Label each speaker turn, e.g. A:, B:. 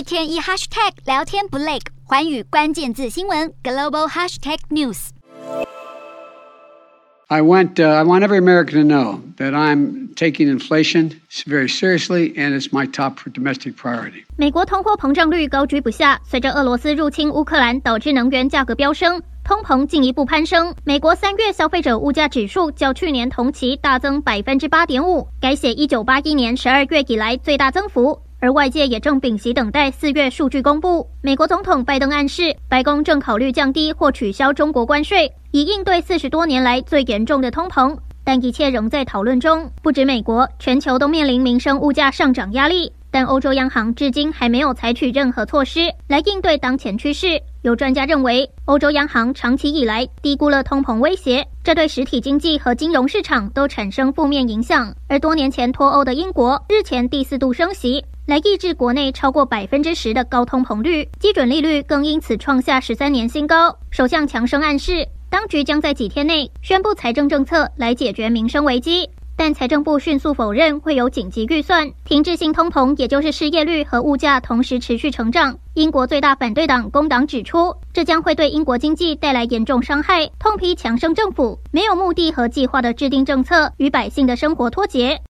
A: 天一 hashtag 聊天不累，寰宇關鍵字新聞 global hashtag news。
B: I want every American to know that I'm taking inflation very seriously, and it's my top domestic priority.
C: 美國通貨膨脹率高居不下，隨着俄羅斯入侵烏克蘭，導致能源價格飆升，通膨進一步攀升。美國3月消費者物價指數較去年同期大增 8.5%， 改寫1981年12月以來最大增幅。而外界也正屏息等待4月數據公布。美國總統拜登暗示，白宮正考慮降低或取消中國關稅，以應對40多年來最嚴重的通膨。但一切仍在討論中。不止美國，全球都面臨民生物價上漲壓力。但歐洲央行至今還沒有採取任何措施來應對當前趨勢。有專家認為，歐洲央行長期以來低估了通膨威脅，這對實體經濟和金融市場都產生負面影響。而多年前脫歐的英國，日前第4度升息，來抑制國內超過10%的高通膨率，基準利率更因此創下13年新高。首相強生暗示，當局將在幾天內宣布財政政策來解決民生危機。但財政部迅速否認會有緊急預算，停滯性通膨，也就是失業率和物價同時持續成長。英國最大反對黨工黨指出，這將會對英國經濟帶來嚴重傷害，痛批強生政府沒有目的和計劃的制定政策，與百姓的生活脫節。